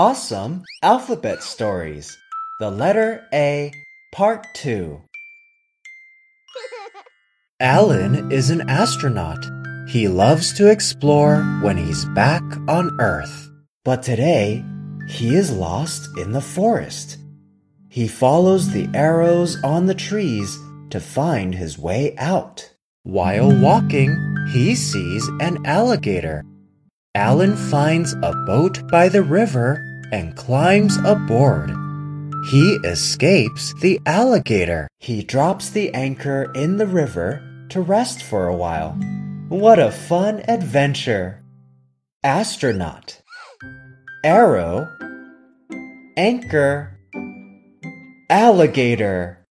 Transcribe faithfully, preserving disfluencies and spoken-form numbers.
Awesome Alphabet Stories. The Letter A, Part two. Alan is an astronaut. He loves to explore when he's back on Earth. But today, he is lost in the forest. He follows the arrows on the trees to find his way out. While walking, he sees an alligator. Alan finds a boat by the river and climbs aboard. He escapes the alligator. He drops the anchor in the river to rest for a while. What a fun adventure! Astronaut, arrow, anchor, alligator.